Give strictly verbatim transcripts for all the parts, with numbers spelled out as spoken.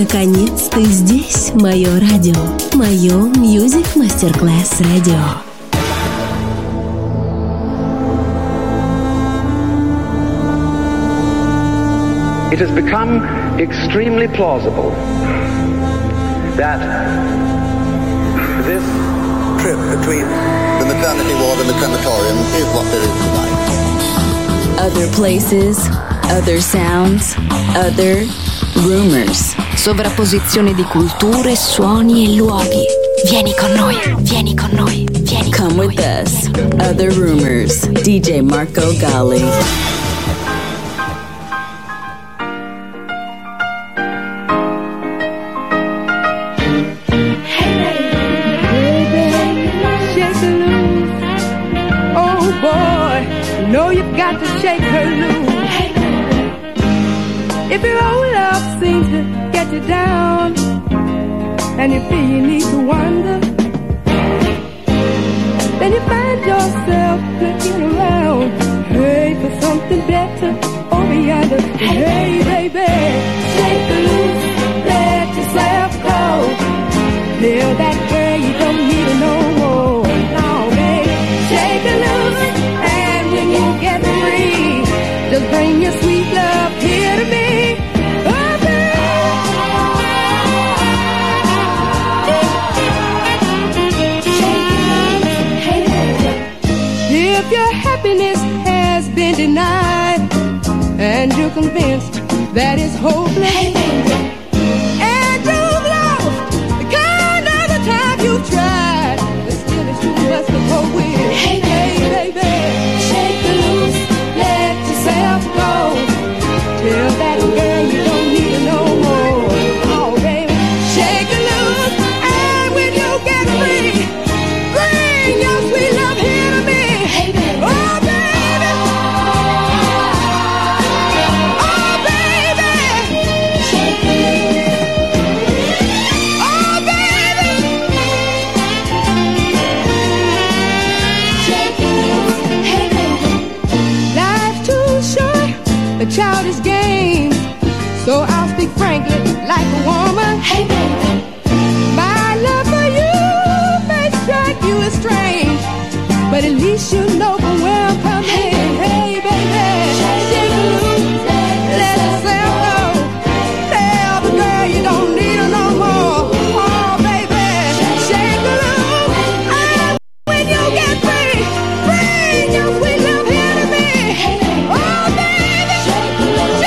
Наконец-то здесь мое радио. Мое Music Masterclass Radio. It has become extremely plausible that this trip between the maternity ward and the crematorium is what there is tonight. Other places, other sounds, other rumors. Sovrapposizione di culture, suoni e luoghi. Vieni con noi, vieni con noi, vieni con Come noi. With us. Other Rumors. D J Marco Gally. Got to shake her loose. If your old love seems to get you down and you feel you need to wander, then you find yourself looking around, hey, for something better over yonder. Hey, baby, shake her loose, let yourself go. Tell that girl you don't need her no more. No, baby, shake her loose. You get free, just bring your sweet love here to me. Oh, if your happiness has been denied and you're convinced that it's hopeless, and you've lost the kind of the time you've tried, but still it's too much to cope with. Hey, hey, baby. Tell that girl you don't need her no more. Oh, baby, shake her loose, and when you get free, bring your sweet love here to me. Hey, baby. Oh, baby. Oh, baby. Shake her loose. Oh, baby. Shake her loose. Hey, baby. Life's too short, the child is games, so I'll speak frankly like a woman. Hey, baby. My love for you may strike you as strange, but at least you know from where I'm coming. Hey, hey baby, shake her loose, let yourself go. Tell the girl you don't need her no more. Oh, baby, shake her loose, and when you get free, bring your sweet love here to me. Oh, baby, shake her loose.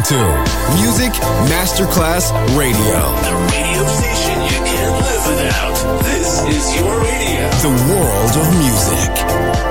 to Music Masterclass Radio. The radio station you can't live without. This is your radio. The world of music.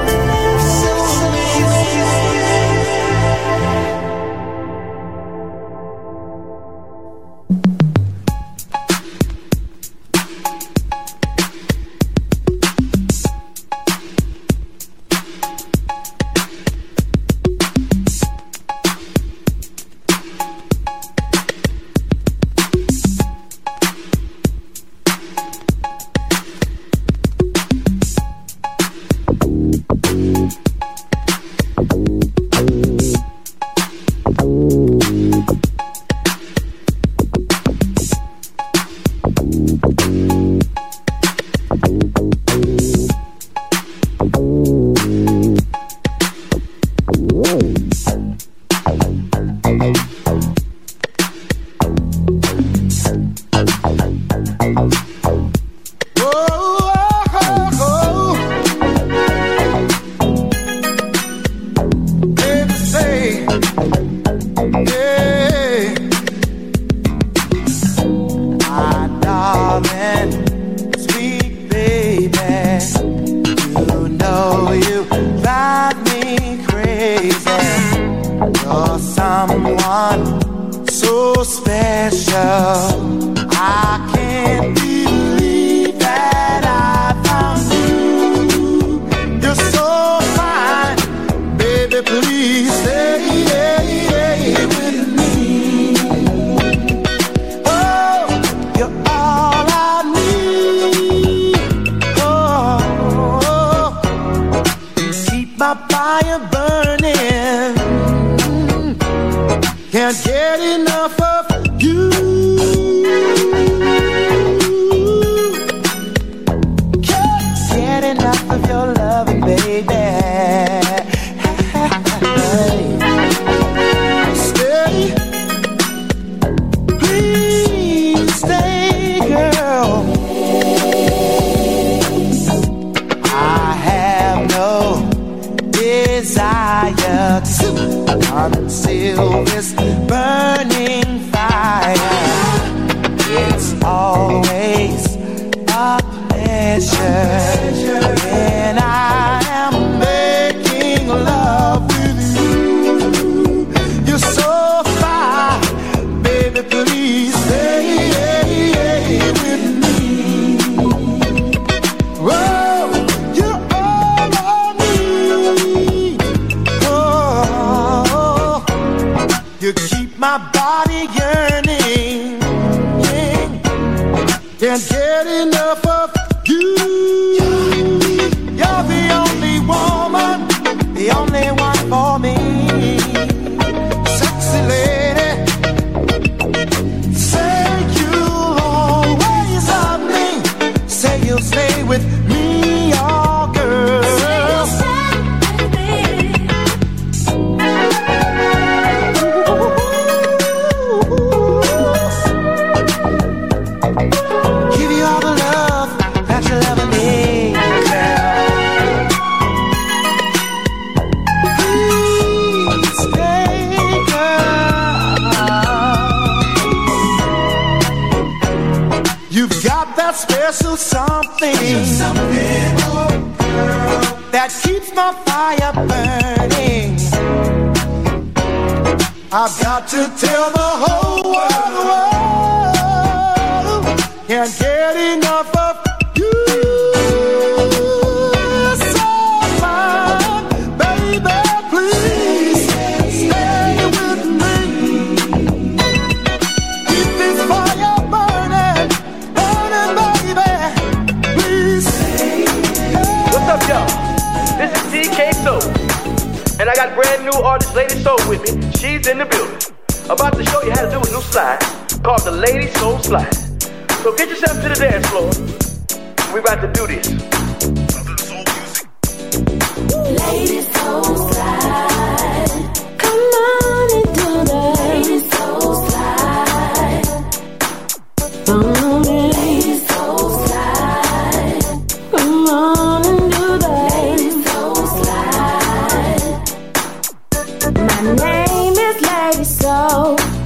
My name is Lady Soul.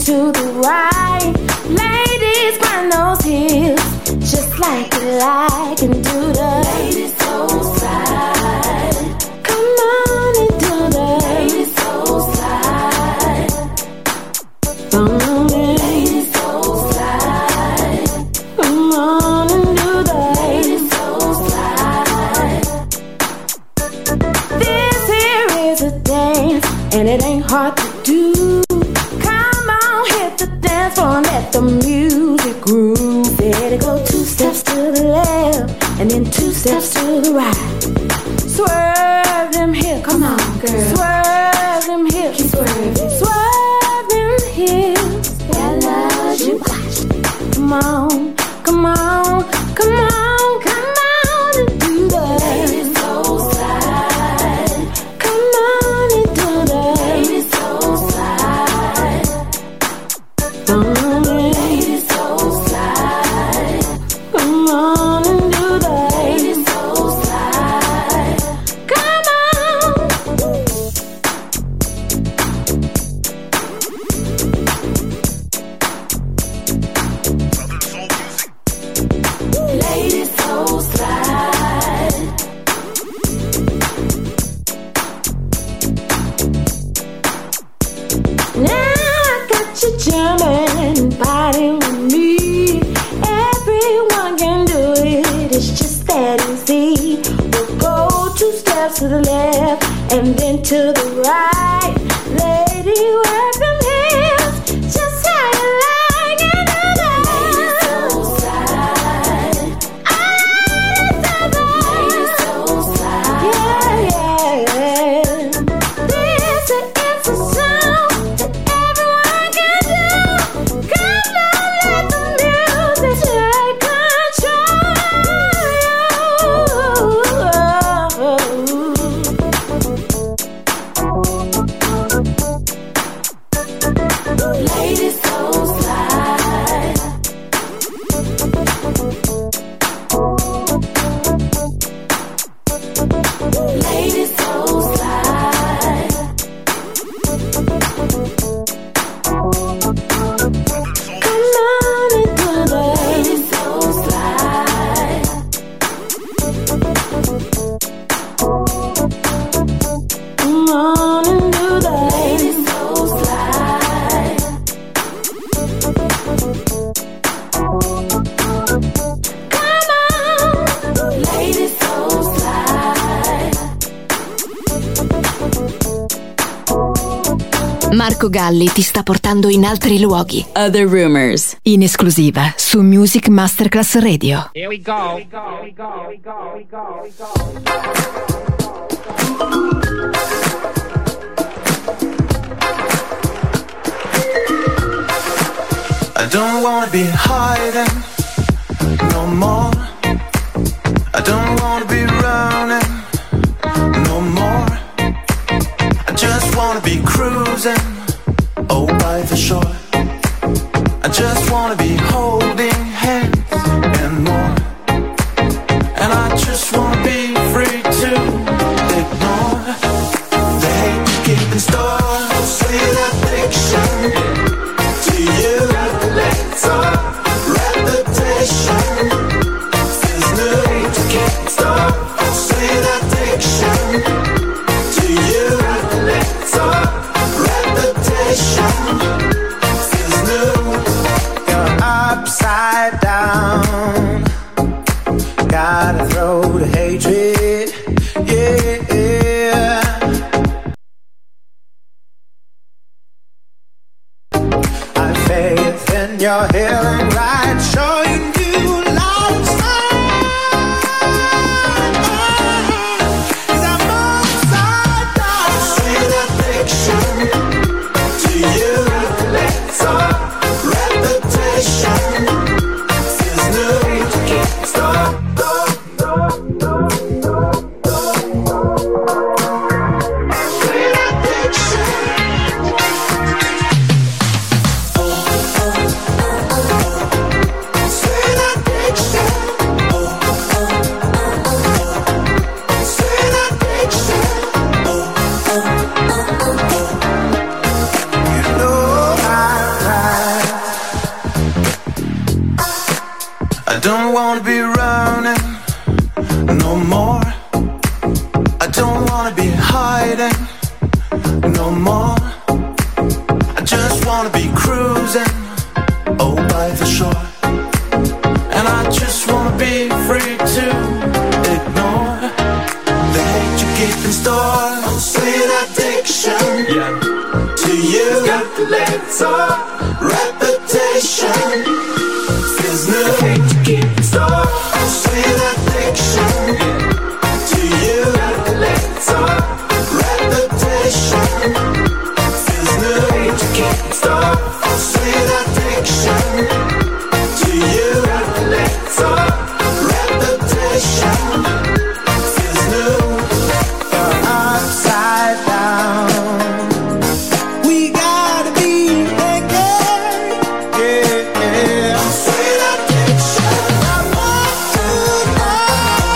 to the right. Ladies, grind those heels just like you like and do the ladies so slide. Come on and do the ladies so slide. Come on, ladies so slide. Come on and do the ladies so slide. This here is a dance and it ain't hard to do. Come on, hit the dance floor and let the music groove. Better go two steps to the left and then two steps to the right. Swerve them hips, come on, girl. Swerve them hips, keep swerving. Swerve them hips, that love you got. Come on, come on, come on, come on and do the ladies so slide. Come on and do the ladies so slide. Come on, ladies so slide. Come on and do the ladies so slide. Come on. Ladies so slide. Now I got you jumping, fighting with me. Everyone can do it, it's just that easy. We'll go two steps to the left and then to the right. Lady, work them hips, just how you like and do that. Ladies so slide. Ladies so slide. Yeah, yeah, yeah. This is a song that everyone can do. Come on, let the music take control. Ladies so slide. Ladies so slide. Come on and do the ladies so slide. Come on and do the ladies so slide. Come on, ladies so slide. Marco Galli ti sta portando in altri luoghi. Other Rumors. In esclusiva su Music Masterclass Radio. Here we go. I don't wanna be hiding no more. I don't wanna be running no more. I just wanna be cruising, oh, by the shore. I just wanna be holding hands and more. And I just wanna be free to ignore the hate you keep in store. Sweet addiction to you. Let's all reputation is new to can't stop. Sweet addiction to you. Let's all reputation is new. You're upside down. Gotta throw the hatred, yeah. I've faith in your healing light, showing you light of sight. 'Cause I'm upside down. Sweet addiction to you. Let's all reputation is new. Can't stop. Sweet addiction. Sweet don't wanna be running no more. I don't wanna be hiding no more. I just wanna be cruising, oh, by the shore. And I just wanna be free to ignore the hate you keep in store. Oh, sweet addiction, yeah. To you, got the little reputation. Feels new, hate you keep in store. Oh, sweet addiction, yeah. To you, got the little reputation. Feels new, hate you keep in store. Oh, sweet addiction. To you, got the little reputation. Feels new, you're upside down. We gotta be naked, yeah, yeah. Oh, sweet addiction. I want to know,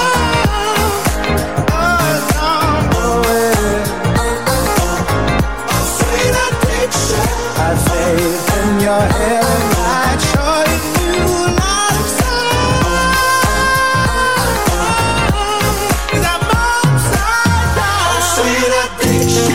oh, no, oh, yeah. Oh, oh, oh, sweet addiction. I have faith in your head and I'd show you lots of signs. 'Cause I'm upside down. Oh, sweet addiction.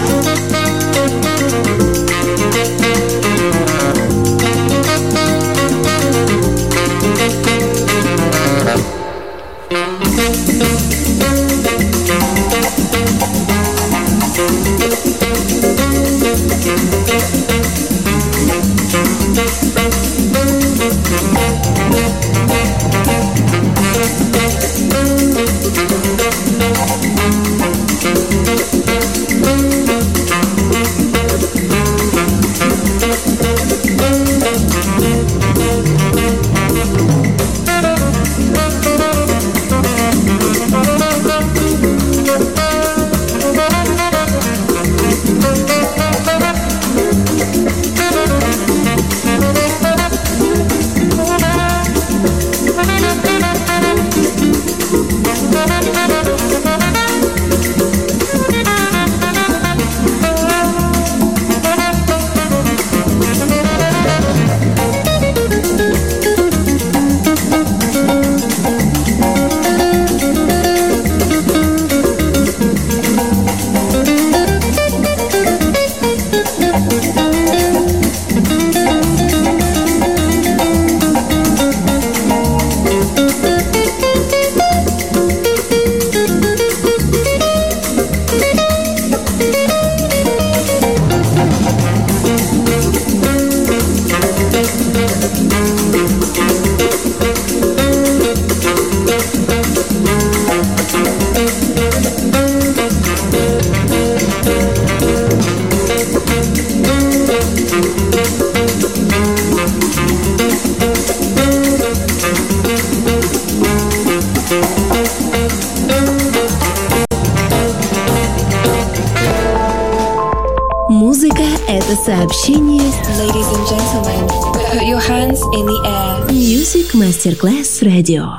Музыка — это сообщение. Ladies and gentlemen, put your hands in the air. Music Masterclass Radio.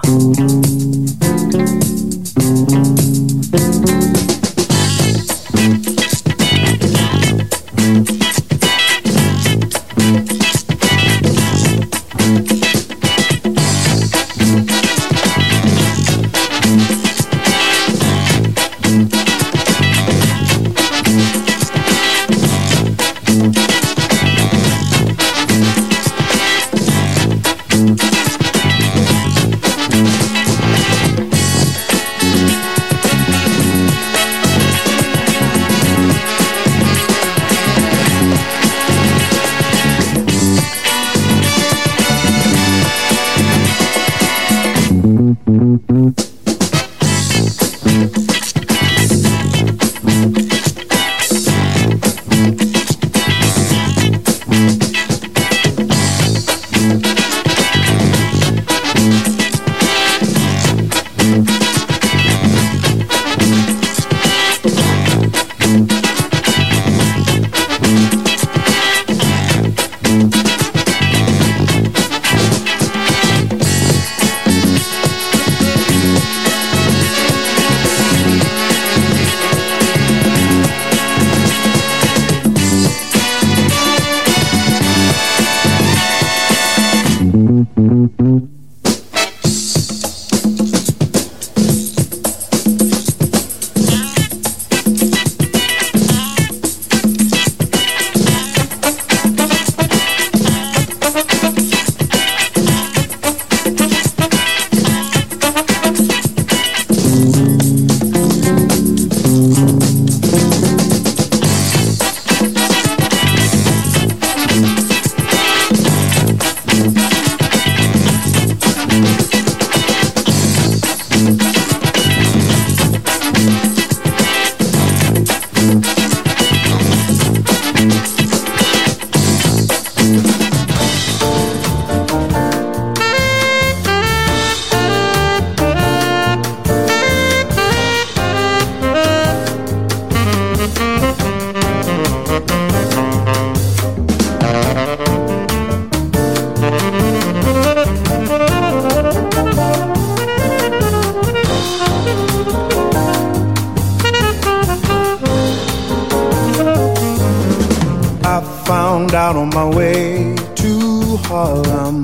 out on my way to Harlem.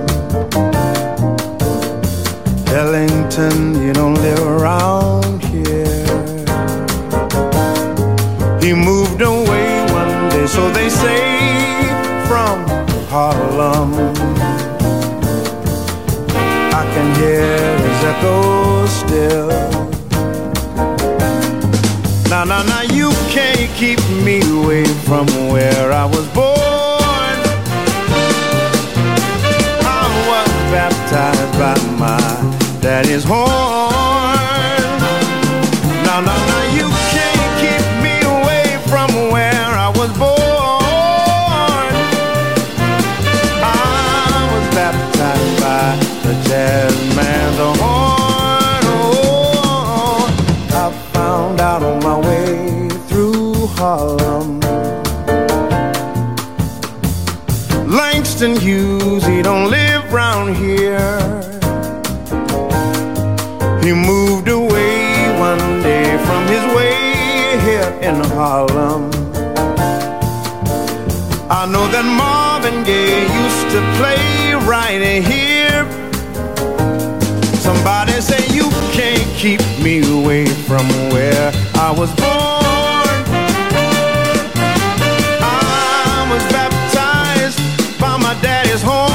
Ellington, you don't live around here. He moved away one day, so they say, from Harlem. I can hear his echo still. Now, now, now, you can't keep me away from where I was born. I was baptized by my daddy's horn. Now, now, now, you can't keep me away from where I was born. I was baptized by the jazz man's horn. Oh, I found out on my way through Harlem. Langston Hughes, he don't live round here. He moved away one day from his way here in Harlem. I know that Marvin Gaye used to play right here. Somebody say you can't keep me away from where I was born. I was baptized by my daddy's horn.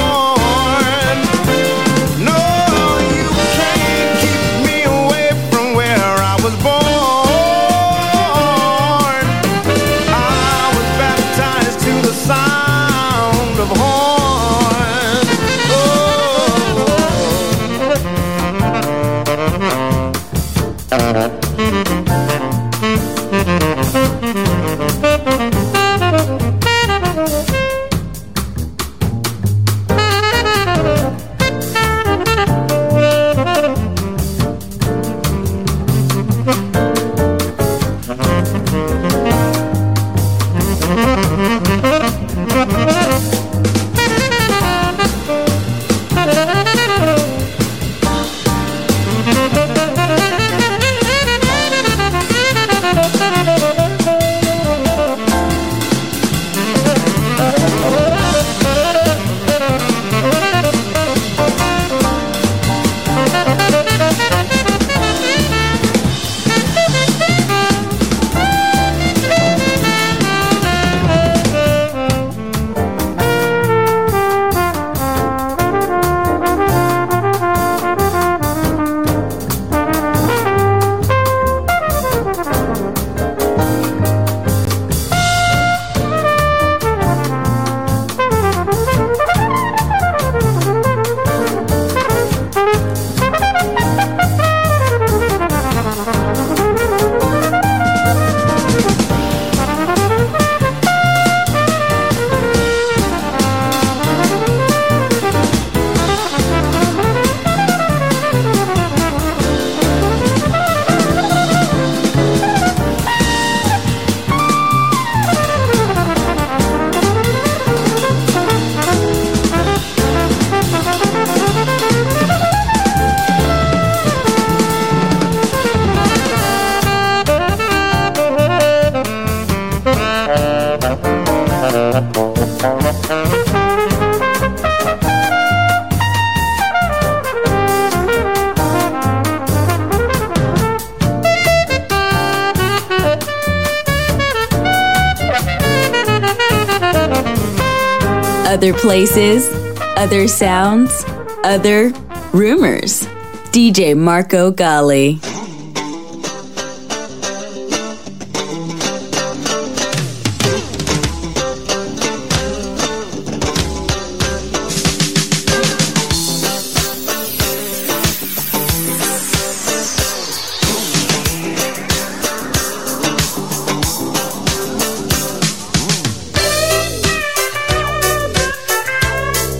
Other places, other sounds, other rumors. D J Marco Gally.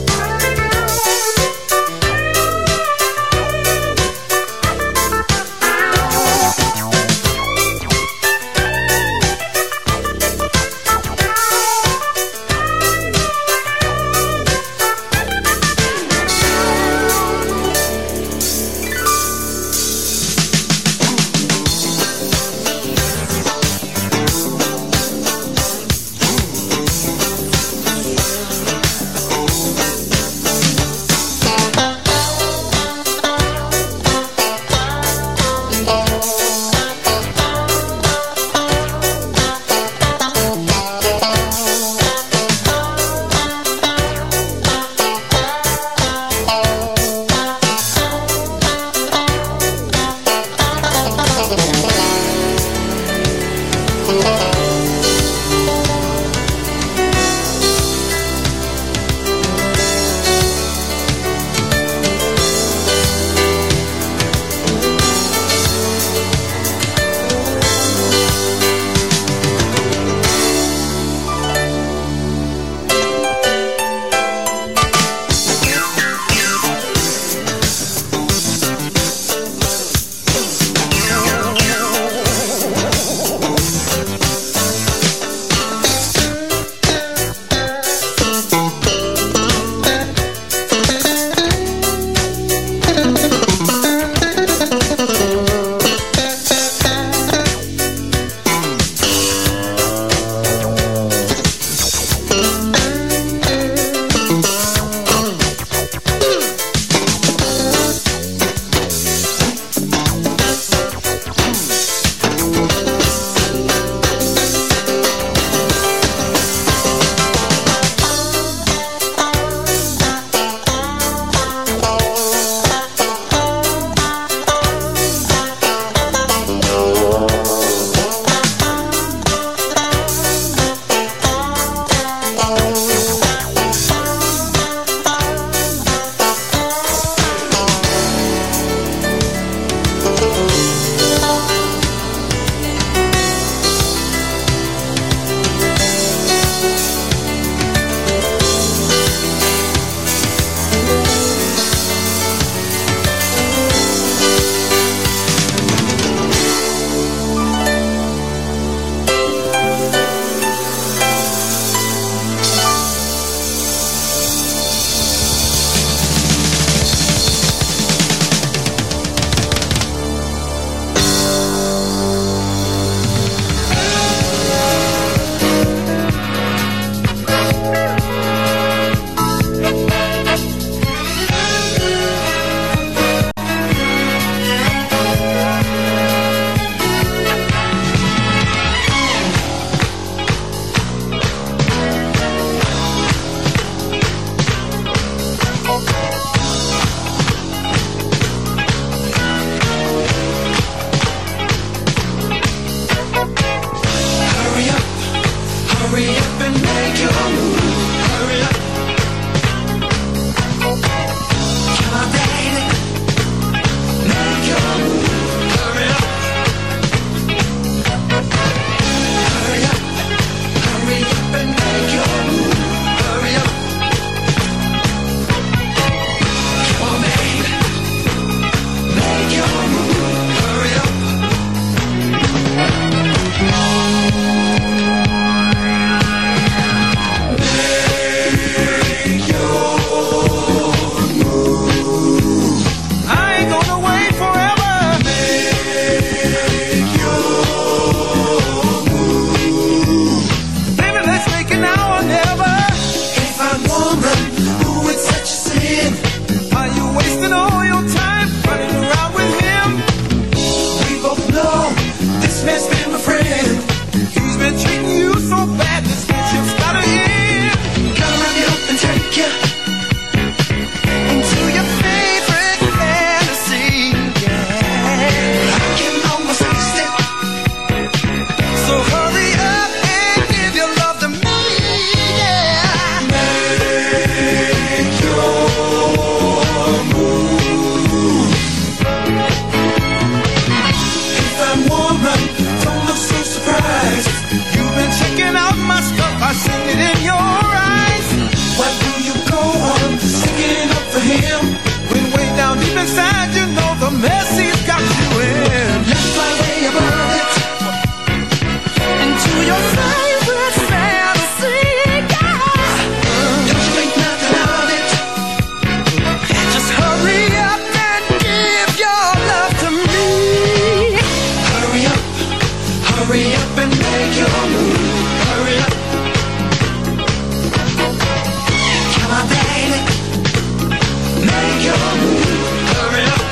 I inside, you know the mess he's got you in. Left right way above it, into your favorite fantasy, yeah. Don't you think nothing of it? Just hurry up and give your love to me. Hurry up, hurry up and make your move. Hurry up. Come on, baby, make your move. Hurry up.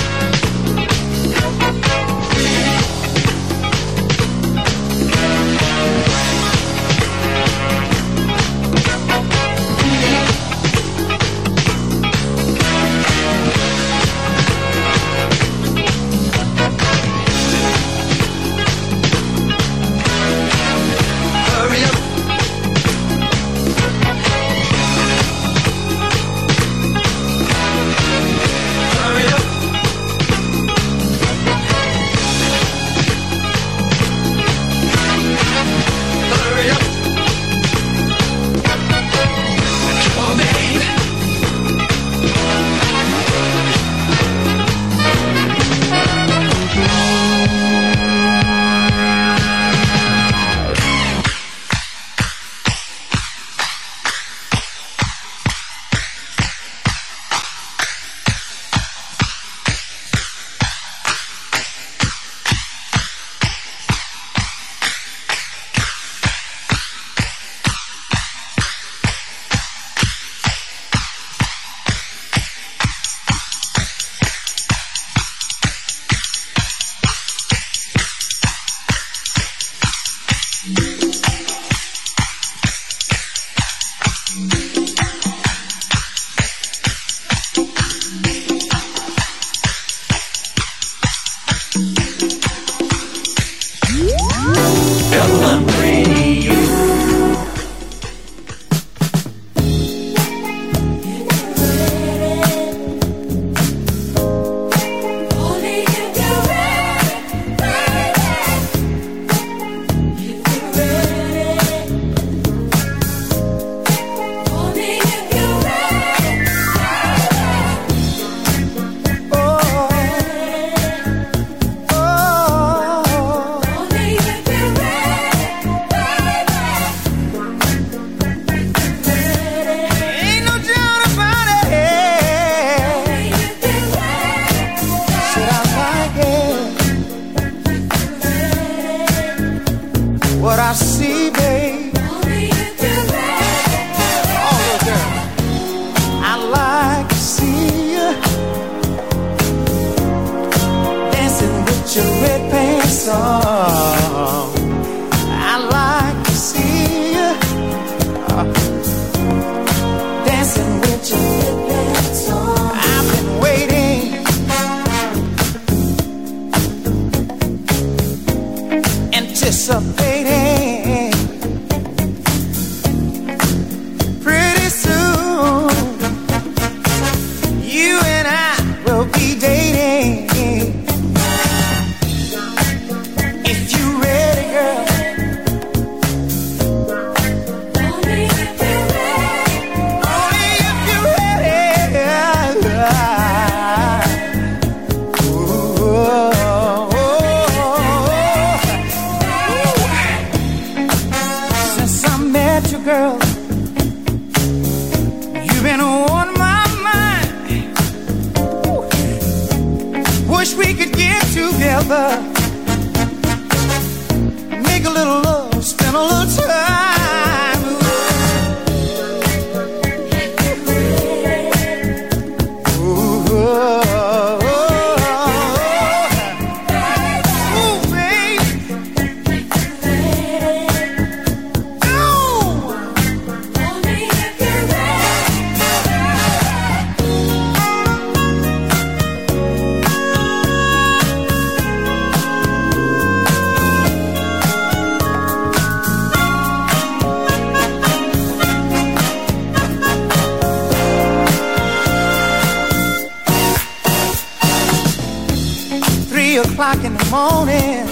O'clock in the morning,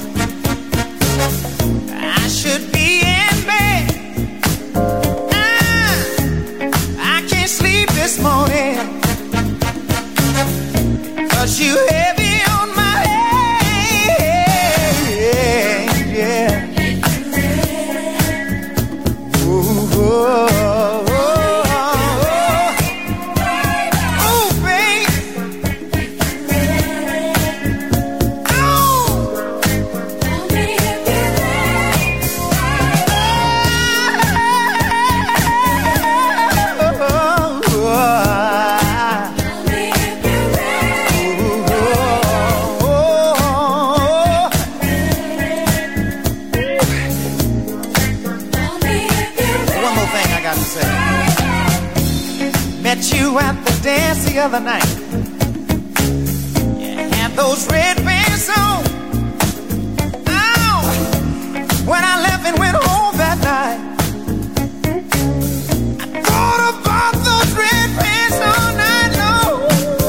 I should be in bed. I, I can't sleep this morning. met you at the dance the other night. You had those red pants on. Oh, when I left and went home that night, I thought about those red pants all night long.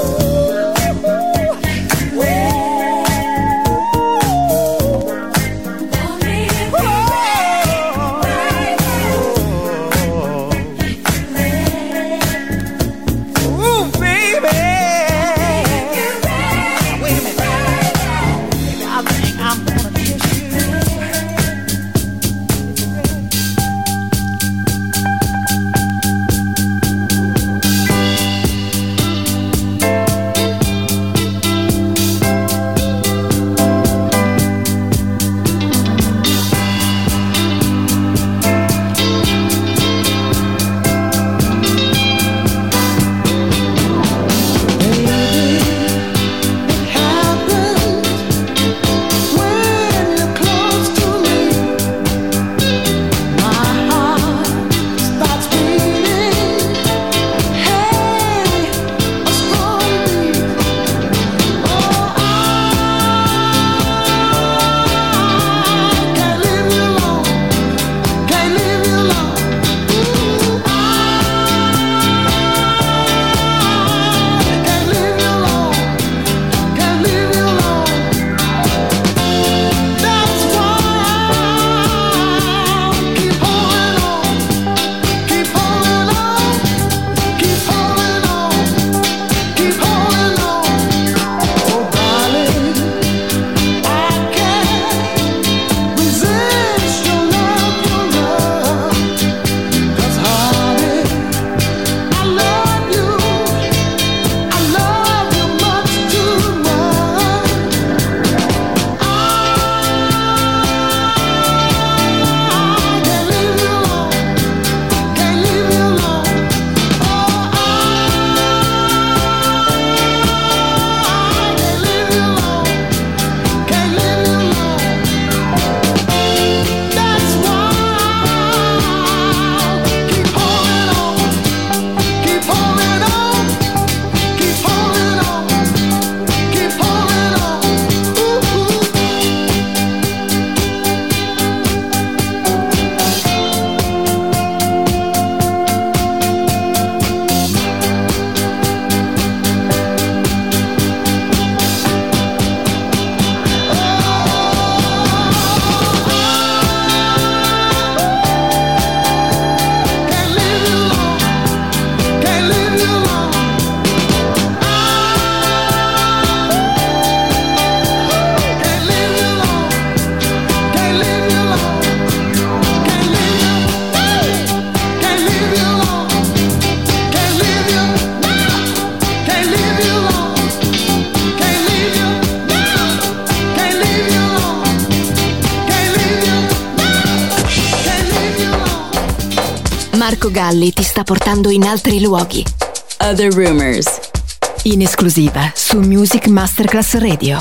Marco Galli ti sta portando in altri luoghi. Other Rumors. In esclusiva su Music Masterclass Radio.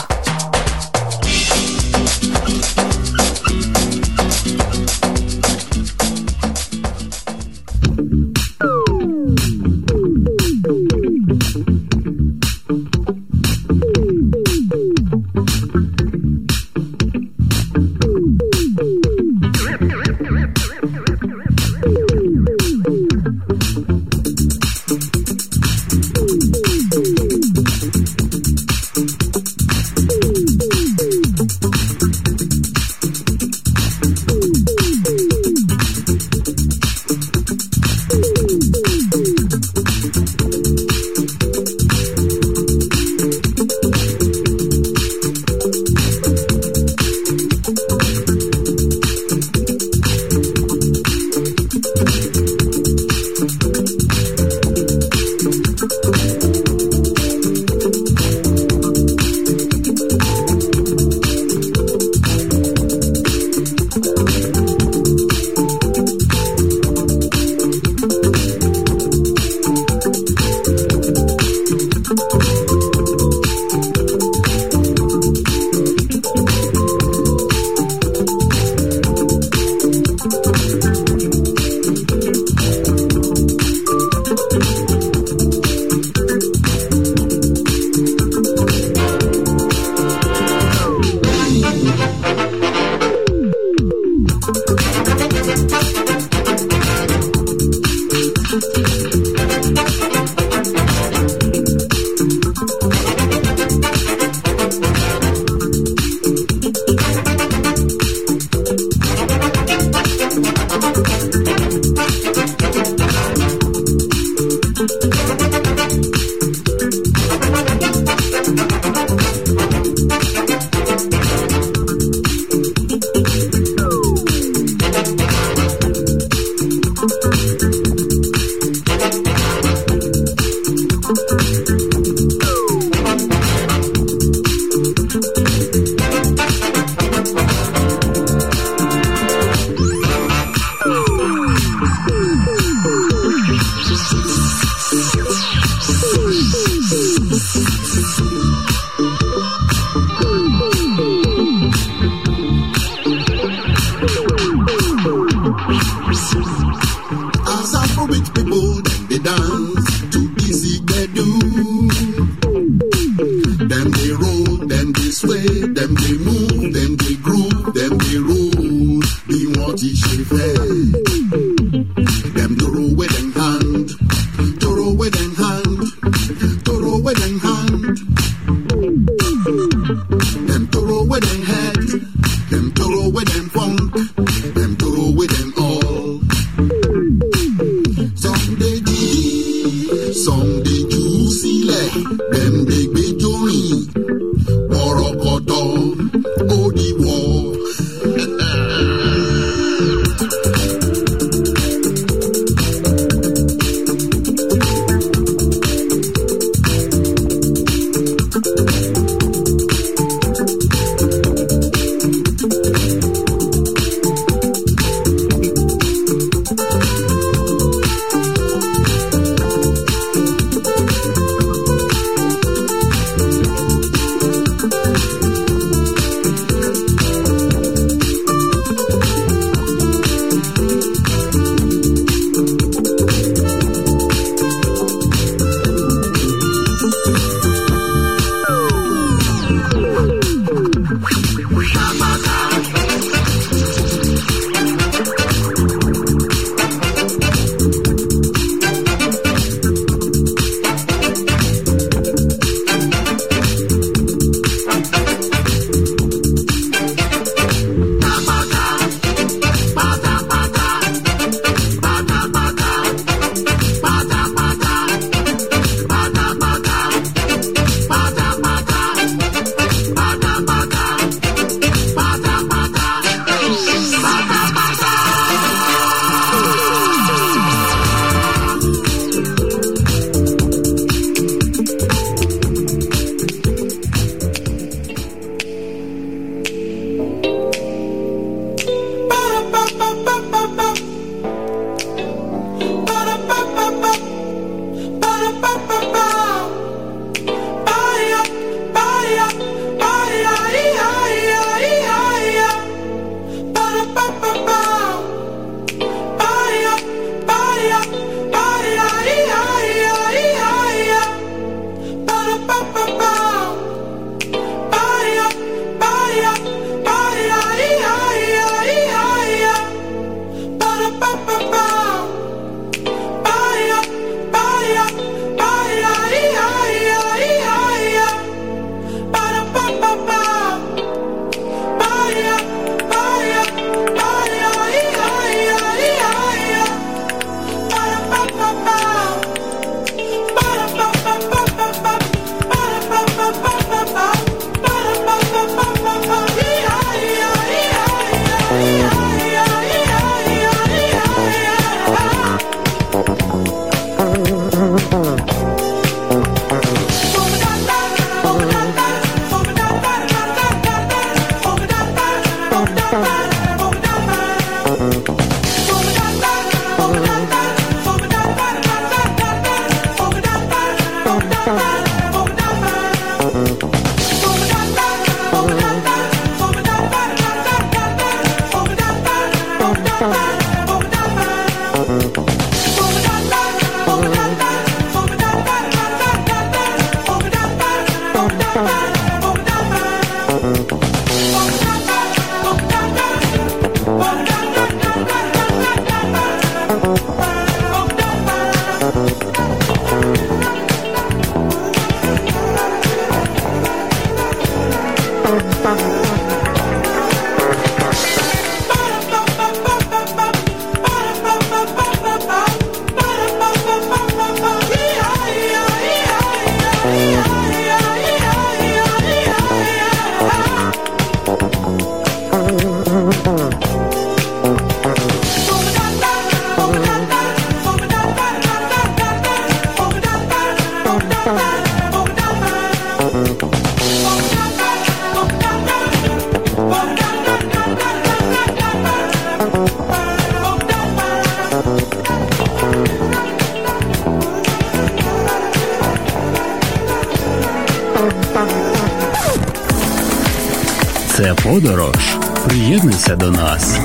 Це подорож. Приєднуйся до нас.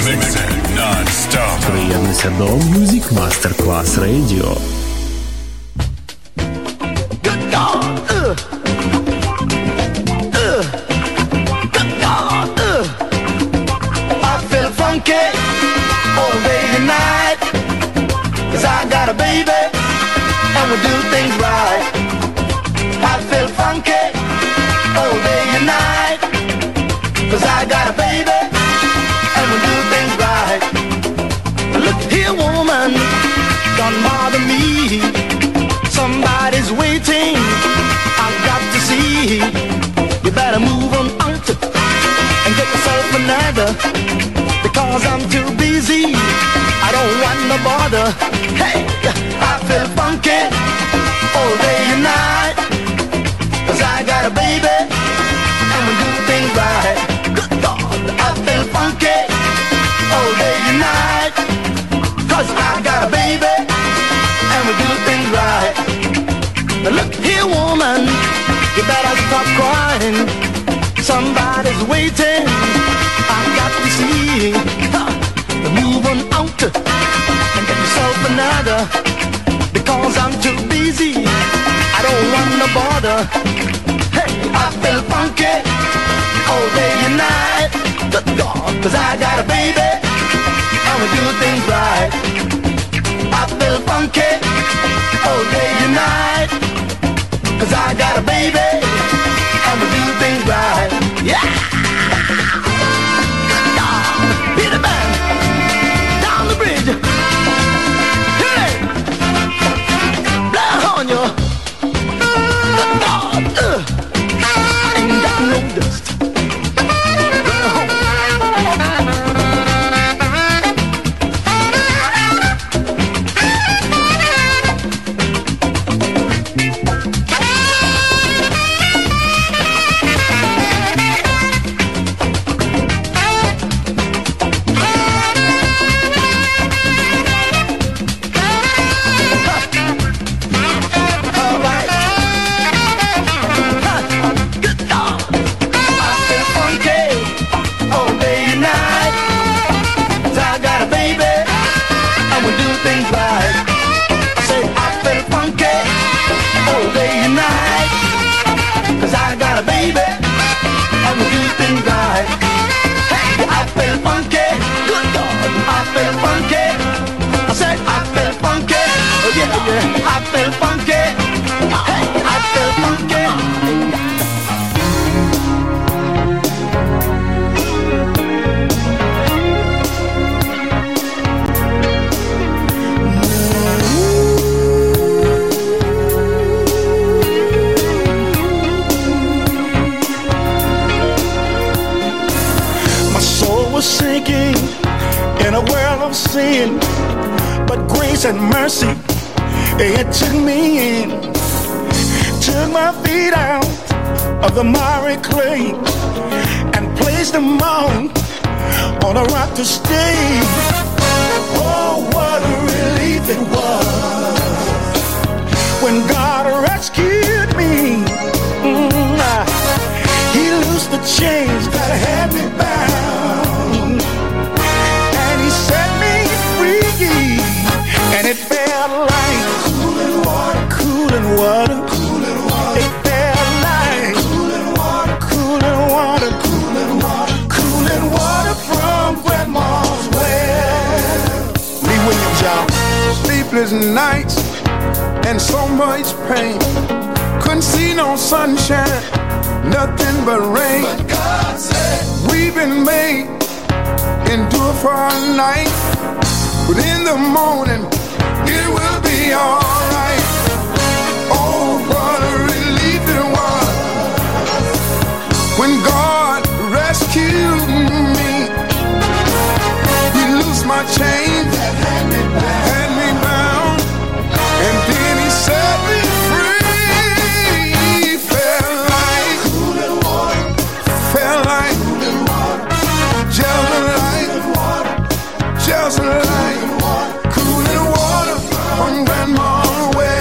Приєднуйся до Music Masterclass Radio. All day and night, 'cause I got a baby and we do things right. I feel funky all day and night, 'cause I got a baby and we do things right. Look here, woman, don't bother me. Somebody's waiting, I've got to see. You better move on out and get yourself another, because I'm too busy, I don't want no bother. Hey, I feel funky all day and night, 'cause I got a baby and we do things right. Good God, I feel funky all day and night, 'cause I got a baby and we do things right. Now look here, woman, you better stop crying. Somebody's waiting, I've got to see. Huh. Move on out and get yourself another, because I'm too busy, I don't want no bother. Hey, I feel funky all day and night, good God, 'cause I got a baby and we do things right. I feel funky all day and night, 'cause I got a baby and we do things right. Yeah! Hit it, man! Down the bridge! Hit it! Blow on you! Good God! Uh, ain't got no dust. Blow home. I feel funky. Hey, I feel funky. My soul was sinking in a world of sin, but grace and mercy, it took me in, took my feet out of the miry clay and placed them on, on a rock to stay. Oh, what a relief it was when God rescued me. Mm, ah, he loosed the chains that had me bound, and he set me free, and it felt like cooling water, cooling water, cooling water. It felt like cooling water, cooling water, cooling water, cooling water from Grandma's well. Lee Williams, y'all. Sleepless nights and so much pain. Couldn't see no sunshine, nothing but rain. But God said we've been made, endure for a night, but in the morning it will be alright. Oh, what a relief it was when God rescued me. He loosed my chains, had me bound, had me bound, and then he set me free. Felt like cooling water, felt like cooling water, just like just like cooling water from Grandma's well.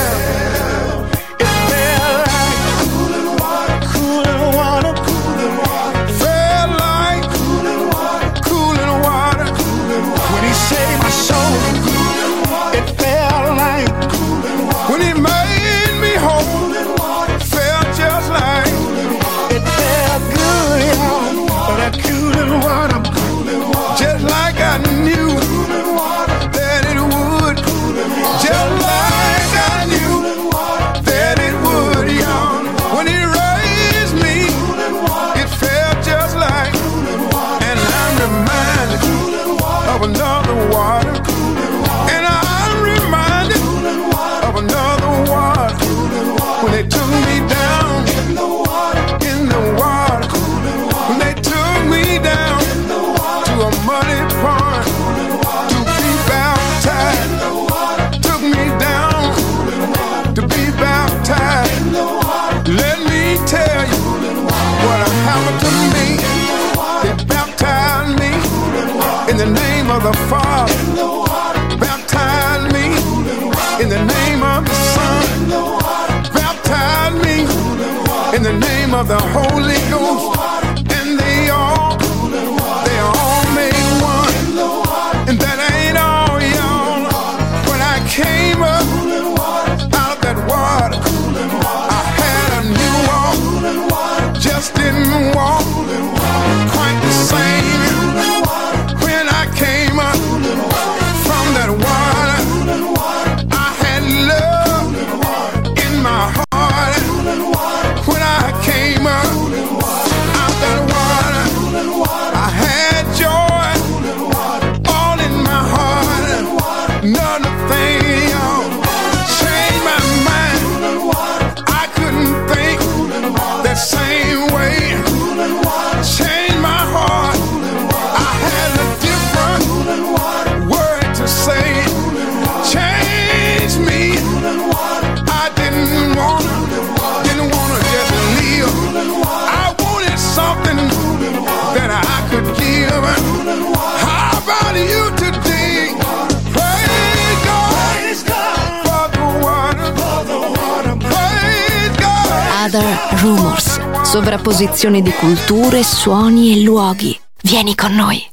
He made me whole. Felt just like it felt good, y'all. But that cool little water, just like I knew that it would. Just like I knew that it would, y'all. When He raised me, it felt just like. And I'm reminded of another water. And I'm reminded of another water. When they took me down in the water, in the water. When they took me down to a muddy pond to be baptized. Took me down to be baptized. Let me tell you what happened to me. They baptized me in the name of the Father. Baptized me in the name of the Son. Baptized me in the name of the Holy Ghost. And they all, they all made one. And that ain't all, y'all. When I came up out of that water, I had a new walk. Just didn't walk quite the same. When I came up from that water, I had love in my heart. When I came up out that water, I had joy all in my heart. Another thing, y'all, changed my mind. I couldn't think that same way. Changed my heart. I had a different word to say. Changed me. I didn't wanna, didn't wanna just live. I wanted something that I could give. How about you today? Praise God, praise God for the water, for the water. Praise God. Other Rumors. Sovrapposizione di culture, suoni e luoghi. Vieni con noi.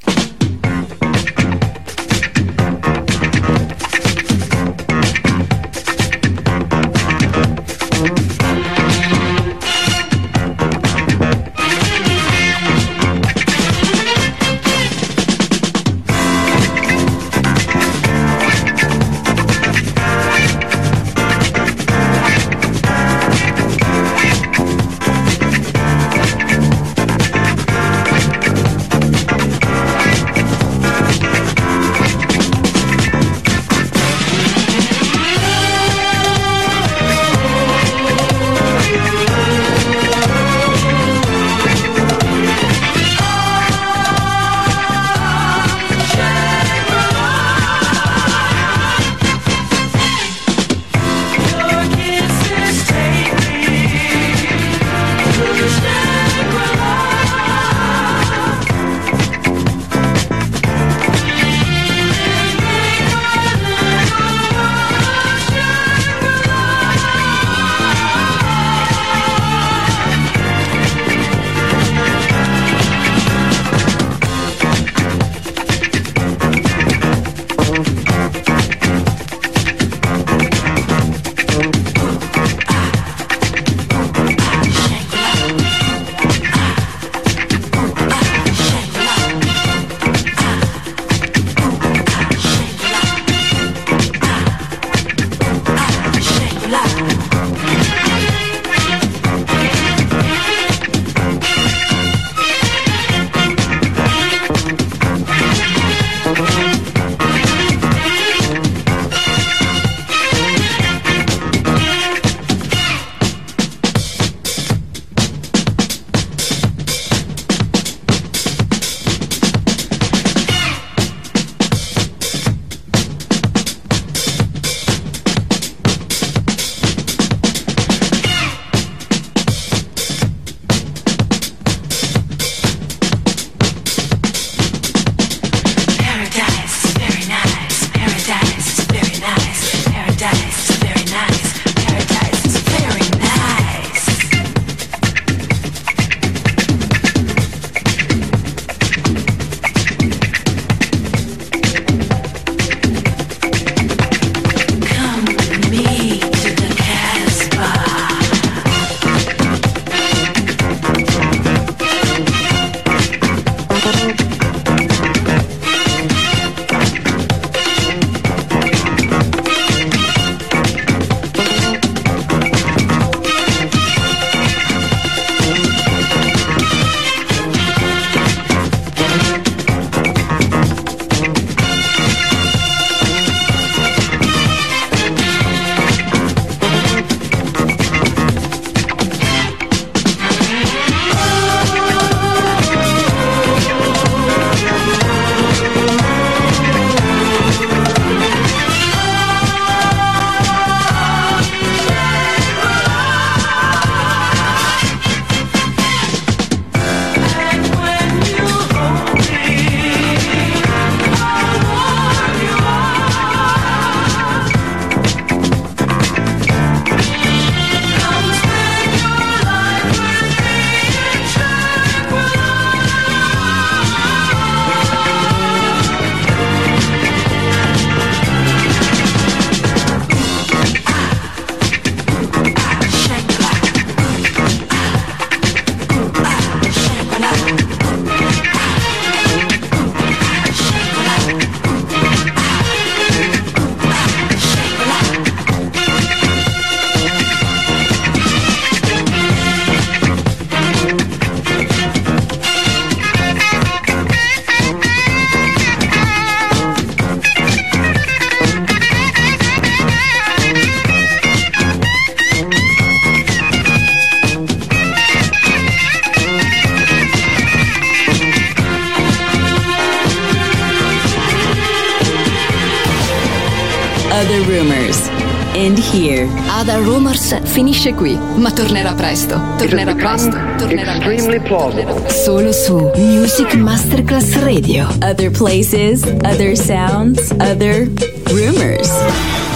here. Other Rumors finisce qui, ma tornerà presto. Tornerà presto. Tornerà extremely presto. plausible. Solo su Music Masterclass Radio. Other places, other sounds, other rumors.